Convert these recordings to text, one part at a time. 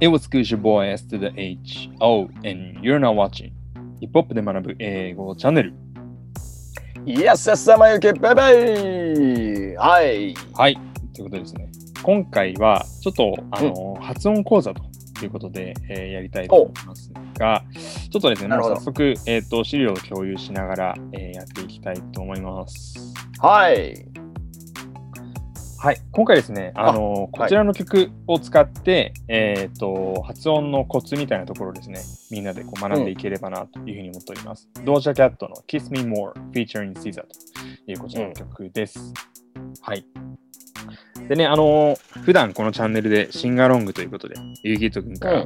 It was good your boy S to the H O and you're now watching ヒップホップで学ぶ英語チャンネル。 Yes, yes, まゆけベベー。はい。 はい。ということでですね。今回はちょっと発音講座ということで、やりたいと思いますが、ちょっとですね、もう早速、資料を共有しながら、やっていきたいと思います。 はい。 はい、今回ですね、こちらの曲を使って、発音のコツみたいなところをですね、みんなでこう学んでいければなというふうに思っております。ドージャキャットの Kiss Me More featuring Caesar というこちらの曲です。はい。でね、普段このチャンネルでシンガロングということで、ゆうぎとくんから、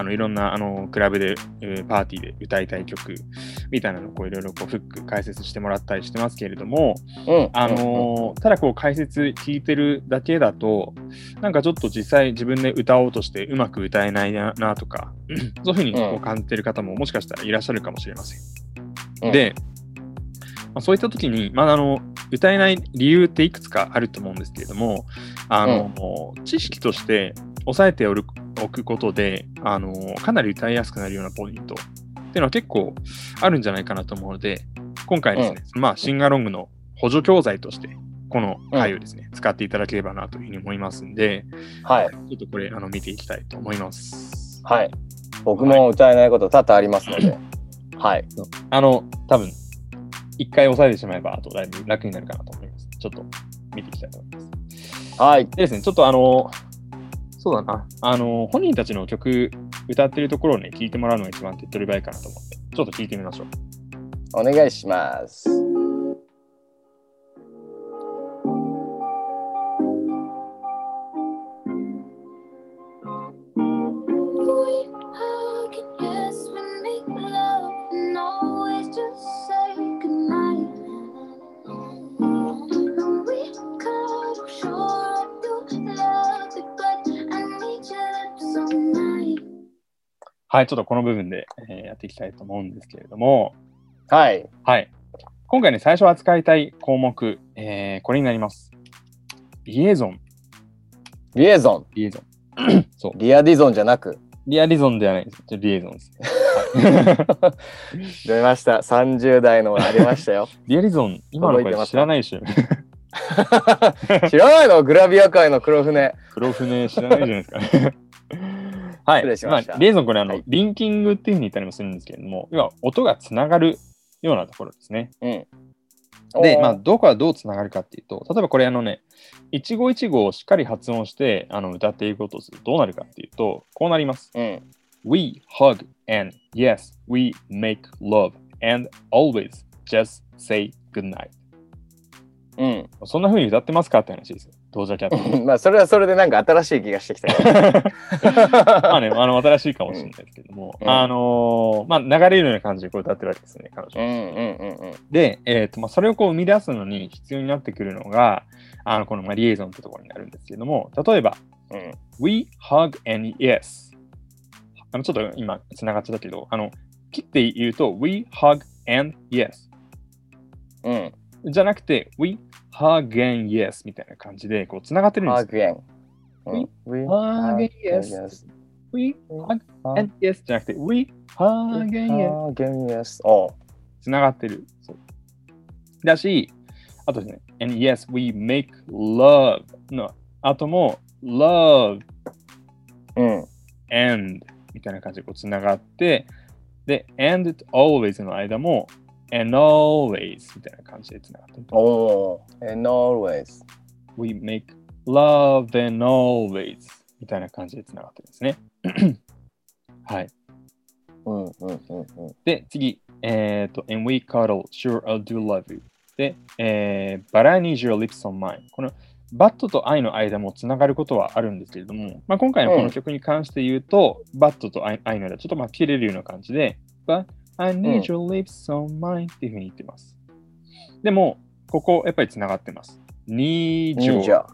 いろんなクラブで、パーティーで歌いたい曲みたいなのをこういろいろこうフック解説してもらったりしてますけれども、ただこう解説聞いてるだけだと、なんかちょっと実際自分で歌おうとしてうまく歌えないなとか、そういうふうにこう感じてる方ももしかしたらいらっしゃるかもしれません。で、そういった時に、歌えない理由っていくつかあると思うんですけれども、知識として押さえておくことで、かなり歌いやすくなるようなポイントっていうのは結構あるんじゃないかなと思うので、今回ですね、シンガロングの補助教材として、この回をですね、使っていただければなというふうに思いますんで、 はい。 ちょっとこれ見ていきたいと思います。 はい。僕も歌えないこと多々ありますので、はい。 多分一回押さえてしまえば、あとだいぶ楽になるかなと思います。ちょっと見ていきたいと思います。はい。でですね、ちょっとそうだな、本人たちの曲歌ってるところをね、聞いてもらうのが一番手っ取り早いかなと思って、ちょっと聞いてみましょう。 お願いします。 はい、ちょっとこの部分で、やっていきたいと思うんですけれども、 はい。 はい。今回ね、最初扱いたい項目、これになります。リエゾン。 リエゾン。 リエゾン。そう。 リアディゾンじゃなく。 リアディゾンではないです。リエゾンです。 出ました。30代のありましたよ。 リアディゾン、今の子知らないでしょ。 知らないの？グラビア界の黒船。 黒船知らないじゃないですか。はい。 失礼しました。 リエゾンこれリンキングっていうふうに言ったりもするんですけれども、要は音がつながるようなところですね。で、どこはどうつながるかっていうと、例えばこれ一語一語をしっかり発音して歌っていくことをするとどうなるかっていうと、こうなります。We hug and yes, we make love and always just say goodnight. そんな風に歌ってますかって話ですよ。ドージャキャット。 それはそれでなんか新しい気がしてきた。 新しいかもしれないですけども、流れるような感じでこう歌ってるわけですね、彼女。で、それをこう生み出すのに必要になってくるのが、このリエゾンってところになるんですけども、例えば、We hug and yes。ちょっと今つながっちゃったけど、切って言うと、We hug and yes。じゃなくて、We hug and yes みたいな感じでこうつながってるんですよ。We hug and yes。We hug and yes じゃなくて、We hug and yes。つながってる。そうだし、あとですね、and yes, we make love の後も love and みたいな感じでこうつながって、で、and always の間もand always みたいな感じでつながってる。 and always. We make love and always みたいな感じでつながってるんですね。はい。で、次、and we cuddle, sure I'll do love you. で、but I need your lips on mine. この but と I の間もつながることはあるんですけれども、今回のこの曲に関して言うと、but と I の間ちょっと切れるような感じで、but I need your lips on mine っていうふうに言ってます。でも、ここやっぱりつながってます。need your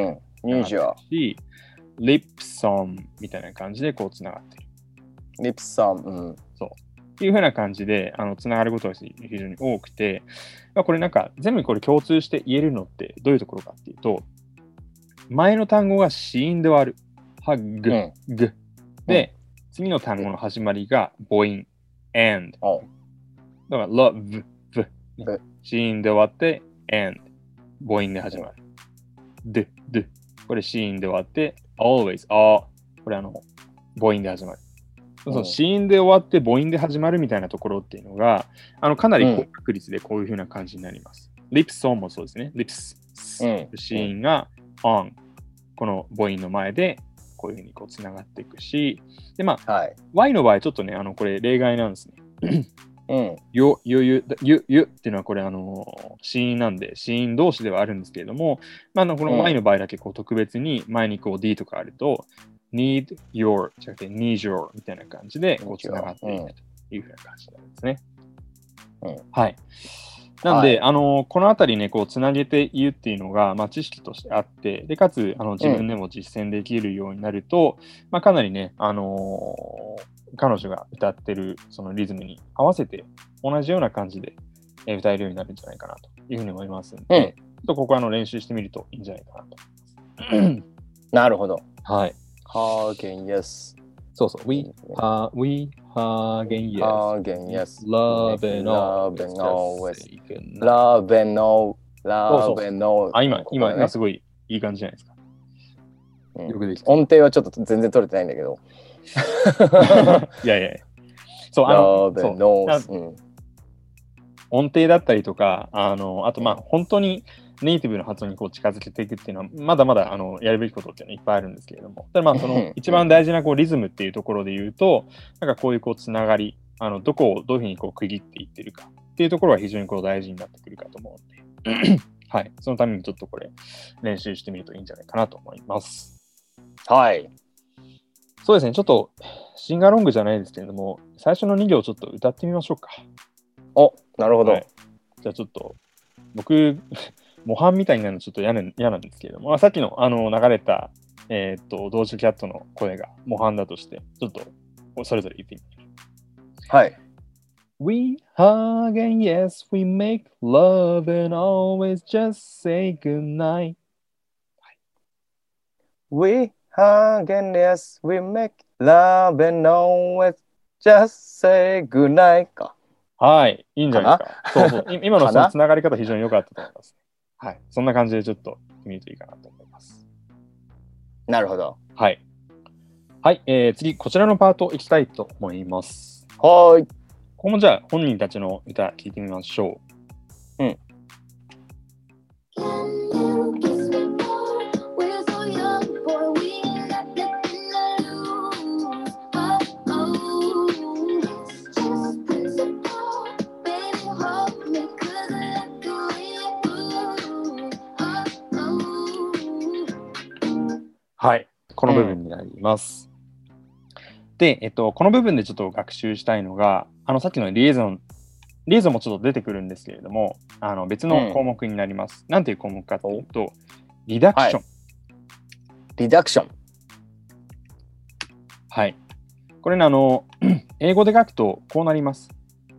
lips on みたいな感じでこうつながってる。 lips on、 そう。っていうふうな感じでつながることが非常に多くて、これなんか全部これ共通して言えるのってどういうところかっていうと、前の単語が子音で割る。hug、 で、次の単語の始まりが母音 and。だから love、子音で終わって and。母音で始まる。で、これ子音で終わって always、これ母音で始まる。その子音で終わって母音で始まるみたいなところっていうのが、かなり高確率でこういう風な感じになります。lips on もそうですね。lips、子音が on。この母音の前でこういう風にこうつながっていくし、で、Y の場合ちょっとね、これ例外なんですね。ゆっていうのはこれ子音なんで子音同士ではあるんですけれども、この Y の場合だけこう特別に前にこう D とかあると need your じゃなくて need your みたいな感じでこうつながっていくというふうな感じなんですね。はい。なんで、このあたりね、こうつなげて言うっていうのが、知識としてあって、でかつ自分でも実践できるようになると、かなりね、彼女が歌ってるそのリズムに合わせて同じような感じで歌えるようになるんじゃないかなというふうに思いますので、ちょっとここ練習してみるといいんじゃないかなと思います。 なるほど。 はい。 Hagen yes。 そうそう。We hagen yes. Hagen yes. Love and always. Love and all. Love and all. 今すごいいい感じじゃないですか。よくできた。 音程はちょっと全然取れてないんだけど。 いや。そう、音程だったりとか、あと本当にネイティブの発音にこう近づけていくっていうのは、まだまだやるべきことっていうのはいっぱいあるんですけれども、ただその一番大事なこうリズムっていうところで言うと、なんかこういうこうつながり、どこをどういうふうにこう区切っていってるかっていうところは非常にこう大事になってくるかと思うので、はい、そのためにちょっとこれ練習してみるといいんじゃないかなと思います。 はい。 そうですね、ちょっとシンガーロングじゃないですけれども、最初の2行ちょっと歌ってみましょうか。 なるほど。 はい、じゃあちょっと僕模範みたいになるのちょっと嫌なんですけれども、さっきの流れた、ドージャキャットの声が模範だとして、ちょっとそれぞれ言ってみましょう。 はい。 We hug and yes, we make love and always just say goodnight. We hug and yes, we make love and always just say goodnight か。 はい、いいんじゃないですか。そう今のそのつながり方非常に良かったと思います。はい、そんな感じでちょっと見るといいかなと思います。 なるほど。 はい。はい、次、こちらのパートいきたいと思います。 はい。 ここもじゃあ本人たちの歌聞いてみましょう。はい、この部分になります。で、この部分でちょっと学習したいのが、さっきのリエゾンもちょっと出てくるんですけれども、別の項目になります。なんていう項目かというと、リダクション。 リダクション。 はい。これね、英語で書くとこうなります。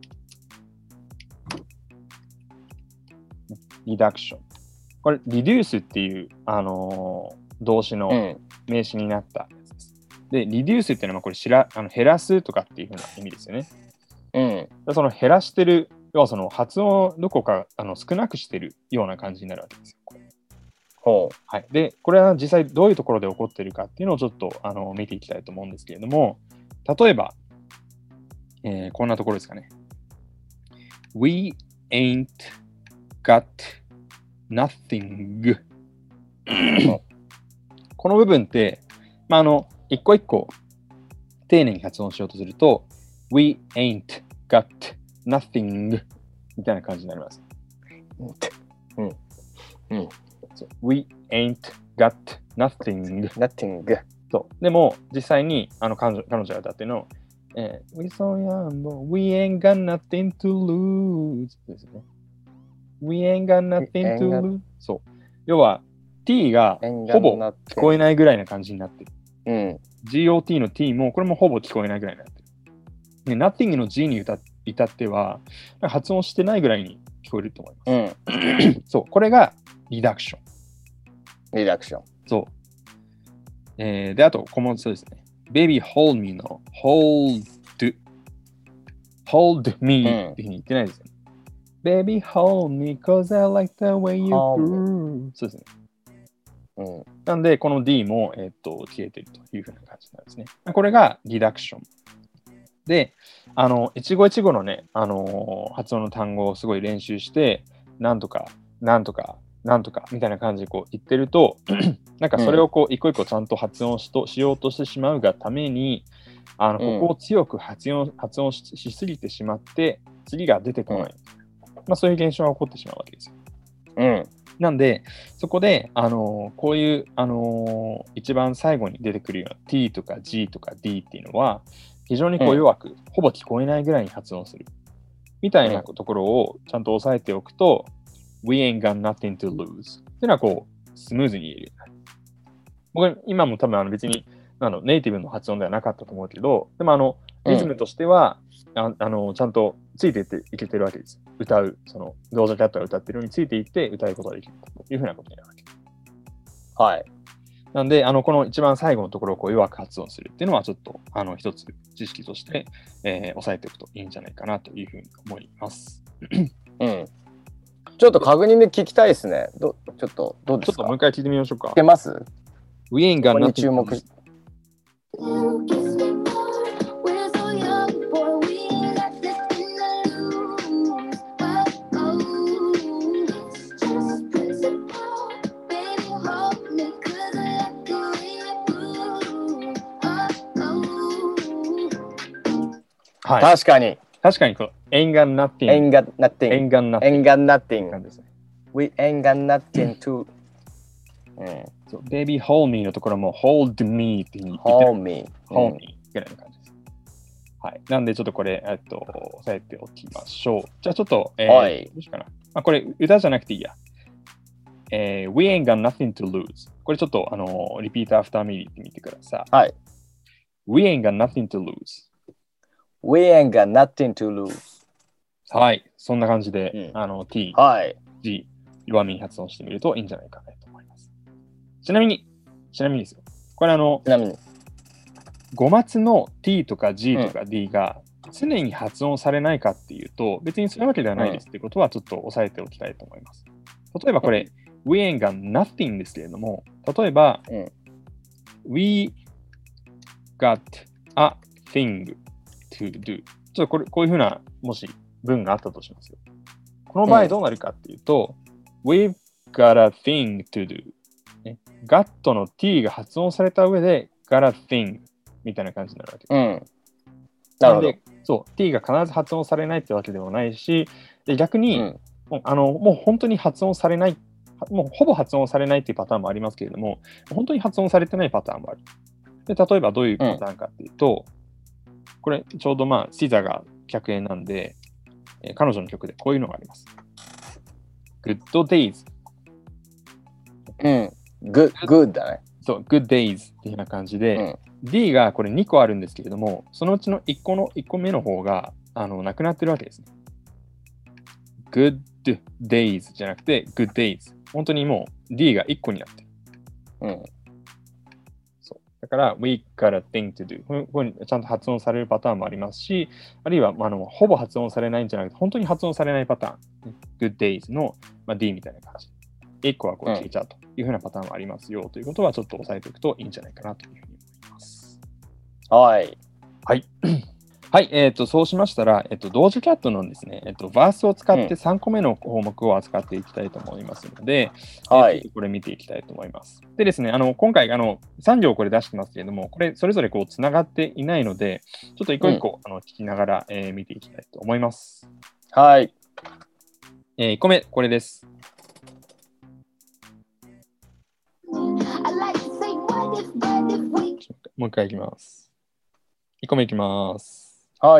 リダクション。これ、リデュースっていう、動詞の名詞になったやつです。で、リデュースっていうのはこれ減らすとかっていう風な意味ですよね。その減らしてる、要はその発音をどこか少なくしてるような感じになるわけですよ。はい。で、これは実際どういうところで起こっているかっていうのをちょっと見ていきたいと思うんですけれども、例えば、こんなところですかね。We ain't got nothing この部分って、一個一個丁寧に発音しようとすると We ain't got nothing みたいな感じになります。We ain't got nothing そう。でも実際に彼女が歌ってるのWe so young, but we ain't got nothing to lose ですね。We ain't got nothing to lose そう。要はT がほぼ聞こえないぐらいな感じになってる。GOT の T もこれもほぼ聞こえないぐらいになってる。で Nothing の G に至っては発音してないぐらいに聞こえると思います。そう、これがリダクション。 リダクション。 そう。で、あと、ここもそうですね。 Baby hold me の hold me っていうふうに言ってないですよね。Baby hold me cause I like the way you grew そうですね。なんで、この D も、消えているというふうな感じなんですね。これがリダクション。で、一語一語のね、発音の単語をすごい練習して、なんとか、なんとか、なんとかみたいな感じでこう言ってると、なんかそれをこう一個一個ちゃんと発音しようとしてしまうがために、ここを強く発音しすぎてしまって、次が出てこない。そういう現象が起こってしまうわけですよ。なんで、そこで、こういう、一番最後に出てくるような T とか G とか D っていうのは、非常にこう弱く、ほぼ聞こえないぐらいに発音する。みたいなところをちゃんと押さえておくと、We ain't got nothing to lose っていうのはこう、スムーズに言えるようになる。僕、今も多分別にネイティブの発音ではなかったと思うけど、でもリズムとしては、ちゃんとついていけてるわけです。歌う、ドージャキャットが歌ってるのについていって歌うことができるというふうなことになるわけです。はい。なんで、この一番最後のところをこう弱く発音するっていうのは、ちょっと一つ知識として、押さえておくといいんじゃないかなというふうに思います。 ちょっと確認で聞きたいですね。ちょっとどうですか？ ちょっともう一回聞いてみましょうか。 聞けます？ We ain't got nothing 注目しはい、確かに、 ain't got nothing. ain't got nothing. ain't got nothing. ain't got nothing. We ain't got nothing to. Baby hold me のところも hold me って言って hold me ぐらいの感じです。はい。なんでちょっとこれ、押さえておきましょう。じゃあちょっと、どうしようかな。これ歌じゃなくていいや。We ain't got nothing to lose. これちょっとrepeat after me ってみてください。 はい。 We ain't got nothing to lose.We ain't got nothing to lose. はい。そんな感じで、T、G、弱めに発音してみるといいんじゃないかなと思います。ちなみにですよ。これちなみに。 語末の T とか G とか D が常に発音されないかっていうと、別にそういうわけではないですっていうことはちょっと押さえておきたいと思います。例えばこれ、We ain't got nothing ですけれども、例えば、We got a thing to do。ちょっとこういうふうな、もし文があったとしますよ。この場合どうなるかっていうと、We've got a thing to do。got の t が発音された上で、got a thing みたいな感じになるわけです。なので、そう、t が必ず発音されないってわけでもないし、で逆に、もう本当に発音されない、もうほぼ発音されないっていうパターンもありますけれども、本当に発音されてないパターンもある。で例えばどういうパターンかっていうと、これちょうどシザが客演なんで、彼女の曲でこういうのがあります。Good days。 good だね。 そう、good days っていうような感じで、D がこれ2個あるんですけれども、そのうちの1個目の方がなくなってるわけですね。good days じゃなくて good days。本当にもう D が1個になってる。そうだから we got a thing to do。ここにちゃんと発音されるパターンもありますし、あるいはほぼ発音されないんじゃなくて、本当に発音されないパターン。good days の、D みたいな感じ。1個はこう消えちゃうというふうなパターンもありますよということはちょっと押さえておくといいんじゃないかなというふうに思います。 はい。 はい。はい、そうしましたら、ドージャキャットのですね、バースを使って3個目の項目を扱っていきたいと思いますので、これ見ていきたいと思います。でですね、今回3行これ出してますけれども、これそれぞれこうつながっていないので、ちょっと一個一個聞きながら、見ていきたいと思います。 はい。 1個目、これです。もう一回いきます。1個目いきます。 はい。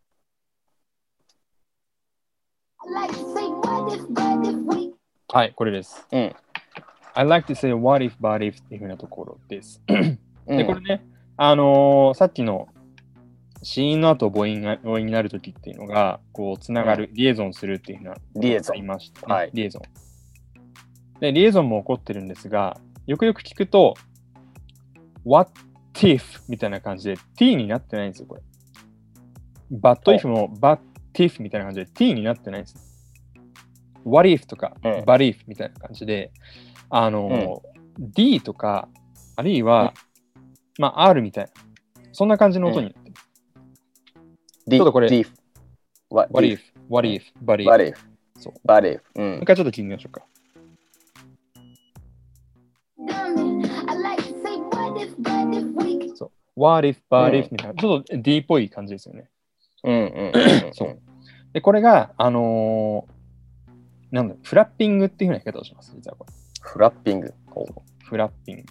はい、これです。I like to say what if, but if っていうふうなところです。で、これね、さっきの子音の後母音になるときっていうのが、こう、つながる、リエゾンするっていうふうなリエゾン言いました、ね。はい。リエゾン。で、リエゾンも起こってるんですが、よくよく聞くと、what if みたいな感じで t になってないんですよ、これ。but if も but if みたいな感じで t になってないんです。what if とか、but if みたいな感じで、D とか、あるいは、まあ R みたいな、そんな感じの音になってる。ちょっとこれ、what if, but if. そう。 but if。 もう一回ちょっと聞いてみましょうか。そう。what if, but if みたいな、ちょっと D っぽい感じですよね。そう。で、これが、なんだ、フラッピングっていうふうな言い方をします、実はこれ。 フラッピング。 フラッピング。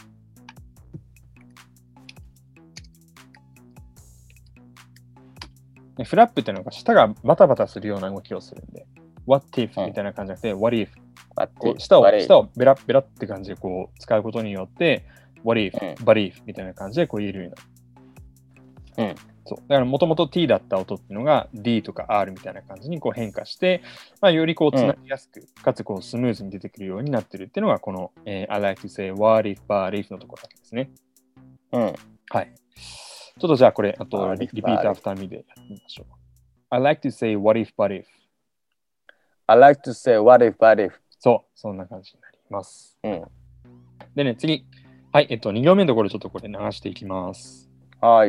フラップっていうのが舌がバタバタするような動きをするんで、what if みたいな感じじゃなくて、what if。舌をベラベラって感じでこう使うことによって、what if、but if みたいな感じでこう言えるようになる。そう。だからもともと T だった音っていうのが D とか R みたいな感じにこう変化して、まあ、よりこうつなぎやすく、かつこうスムーズに出てくるようになってるっていうのがこの、I like to say what if, but if のところですね。はい。ちょっとじゃあこれ、あとリピートアフターミでやってみましょう。I like to say what if, but if。I like to say what if, but if。 そう、そんな感じになります。でね、次。はい、2行目のところちょっとこれ流していきます。 はい。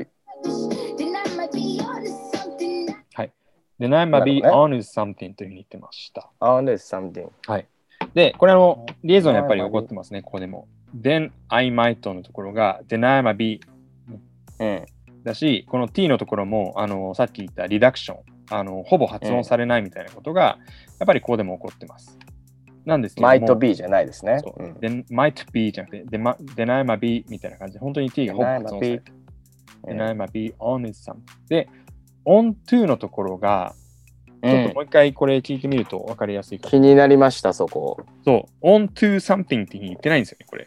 はい。Then I might be honest something というふうに言ってました。 honest something。 はい。で、これリエゾンやっぱり起こってますね、ここでも。Then I might のところが Then I might be、だし、この T のところもさっき言ったリダクション、ほぼ発音されないみたいなことが、やっぱりここでも起こってます。なんですけども。 might be じゃないですね。 Then might be じゃなくて、Then I might be みたいな感じで、本当に T がほぼ発音されてる。Then I might be honest something。で、on to のところが、ちょっともう一回これ聞いてみると分かりやすいかも。気になりました、そこ。 そう、on to something って言ってないんですよね、これ。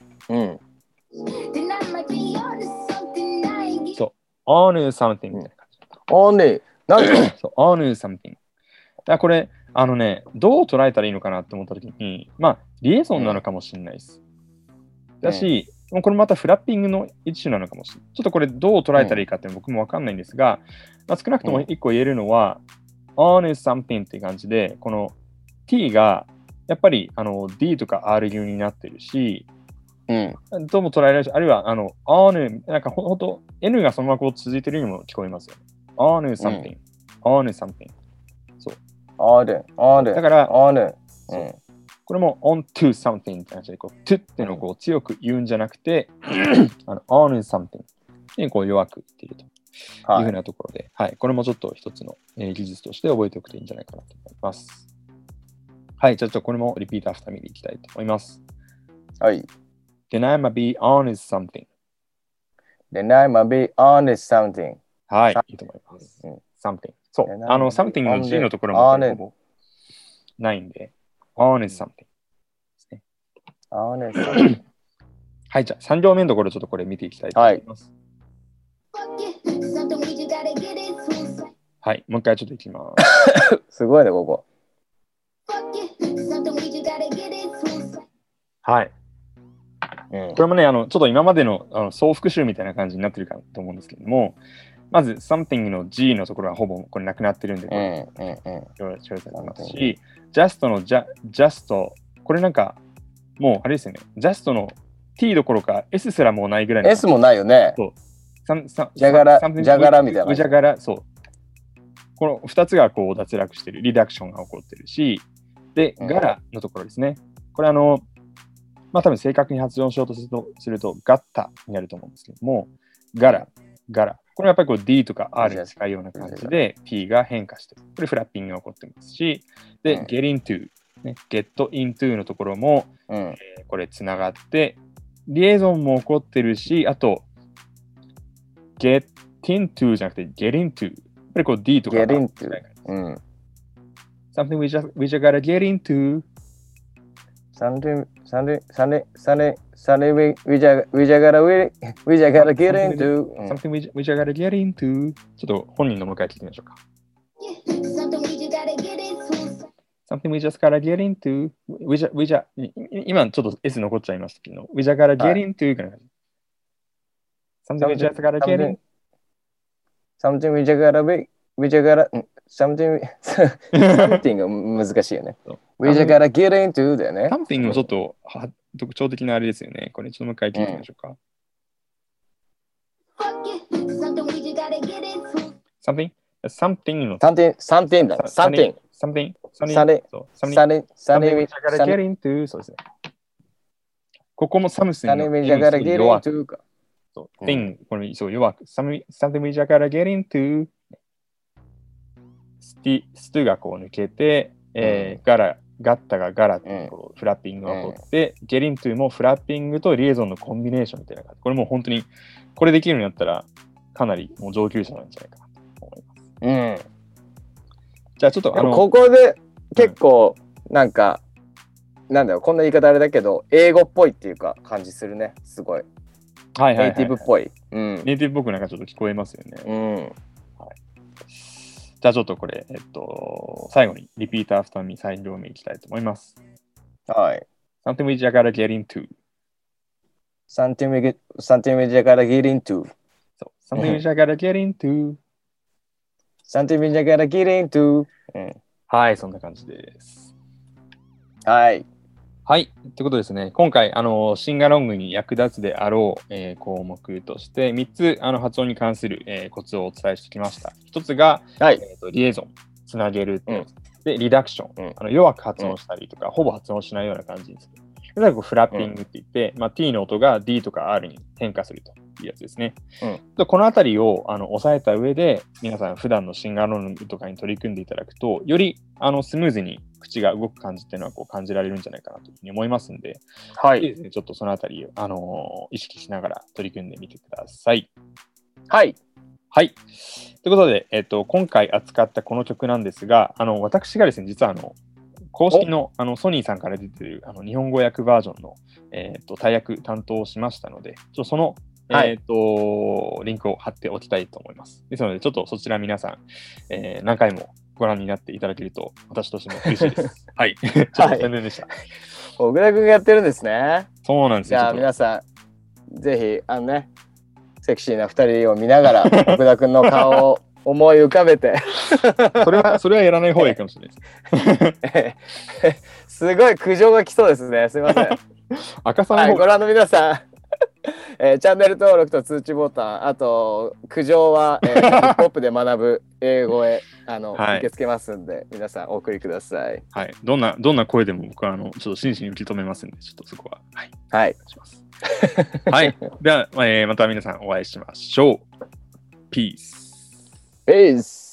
そう、on something みたいな感じ。 on なんでそう、on something。だからこれ、どう捉えたらいいのかなって思ったときに、まあ、リエゾンなのかもしれないです。だし、これまたフラッピングの一種なのかもしれない。ちょっとこれどう捉えたらいいかって僕も分かんないんですが、まあ、少なくとも一個言えるのは、on is something っていう感じで、この T がやっぱりD とか R 流になってるし、どうも捉えられるし、あるいはon、なんかほんと N がそのままこう続いてるようにも聞こえますよ。on is something、on is something。そう。 on だから、 on これも on to something って感じで、こう to っていうのをこう強く言うんじゃなくて、on is something にこう弱く言っているというふうなところで、はい、これもちょっと一つの技術として覚えておくといいんじゃないかなと思います。はい、じゃあこれもリピートアフターミでいきたいと思います。 はい。 Then I might be honest something。Then I might be honest something。 はい、いいと思います。something。そう、something の G のところもほぼないんで、honest something ですね。 honest something。 はい、じゃあ3行目のところちょっとこれ見ていきたいと思います。はい、もう一回ちょっといきます。 すごいね、ここ。 はい。これもね、ちょっと今までの総復習みたいな感じになってるかと思うんですけども、まず something の G のところはほぼこれなくなってるんで、調整されてますし、just の just、これなんかもうあれですよね、just の T どころか S すらもうないぐらいの。 S もないよね。 そう。 じゃがらみたいな。 じゃがら、そう。この2つがこう脱落してる、リダクションが起こってるし、で、ガラのところですね。これまあ多分正確に発音しようとするとガッタになると思うんですけども、ガラ。これやっぱりこう D とか R に近いような感じで T が変化してる。これフラッピングが起こってますし、で、get into、ね、get into のところも、これつながって、リエゾンも起こってるし、あと、get into じゃなくて get into。やっぱりこう D とか get into。 something we just gotta get into。 something we just gotta get into。something we just gotta get into。ちょっと本人のもう一回聞いてみましょうか。something we just gotta get into。今ちょっと S 残っちゃいましたけど、we just gotta get into から。 Something we just gotta get in. Something we just gotta be, we just gotta, something, something が難しいよね。We just gotta get into だよね。 Something もちょっと特徴的なあれですよね。これちょっともう一回聞いてみましょうか。Something? Something の something だ。something. Something. Something. Something we just gotta get into. そうですね。ここもサムスンの Something we just gotta get into か。 そう。thing これそう弱く。Something we just gotta get into. ストがこう抜けて、ガッタがガラってこうフラッピングが起こって、ゲリントゥもフラッピングとリエゾンのコンビネーションみたいな感じ。これもう本当に、これできるようになったら、かなりもう上級者なんじゃないかなと思います。 うん。 じゃあちょっとここで結構なんか、なんだろう、こんな言い方あれだけど、英語っぽいっていうか感じするね。すごい。 はいはいはいはい、 ネイティブっぽい。 ネイティブっぽくなんかちょっと聞こえますよね。 うん。 はい、じゃあちょっとこれ、最後にリピートアフターミー再両目いきたいと思います。 はい。 Something we just gotta get into. Something we just gotta get into. そう。Something we just gotta get into. Something we just gotta get into. はい、そんな感じです。 はい。 はい。ということですね。今回、シンガロングに役立つであろう、項目として、3つ発音に関する、コツをお伝えしてきました。1つが、 はいリエゾン、つなげる。で、リダクション、弱く発音したりとか、ほぼ発音しないような感じにする。で、最後、フラッピングって言って、T の音が D とか R に変化するというやつですね。でこのあたりを押さえた上で、皆さん普段のシンガロングとかに取り組んでいただくと、よりスムーズに口が動く感じっていうのはこう感じられるんじゃないかなというふうに思いますので、 はい。 ですね、ちょっとそのあたりを、意識しながら取り組んでみてください。 はい。 はい。ということで、今回扱ったこの曲なんですが、私がですね、実は公式のソニーさんから出ている日本語訳バージョンの、大訳担当しましたので、その、リンクを貼っておきたいと思います。ですので、ちょっとそちら皆さん、何回もご覧になっていただけると、私としても嬉しいです。はい。ちょっと宣伝でした。 小倉君がやってるんですね。 そうなんですよ。 じゃあ皆さん、ぜひ、セクシーな2人を見ながら、小倉君の顔を思い浮かべてそれはやらない方がいいかもしれないです。すごい苦情が来そうですね。すみません。 赤さんの方、 ご覧の皆さん、チャンネル登録と通知ボタン、あと苦情は、ヒップホップで学ぶ英語へ受け付けますんで、皆さんお送りください。 はい。どんな声でも僕はちょっと真摯に受け止めますんで、ちょっとそこは。はい。 はい。 お願いします。はい。では、また皆さんお会いしましょう。ピース。 Peace.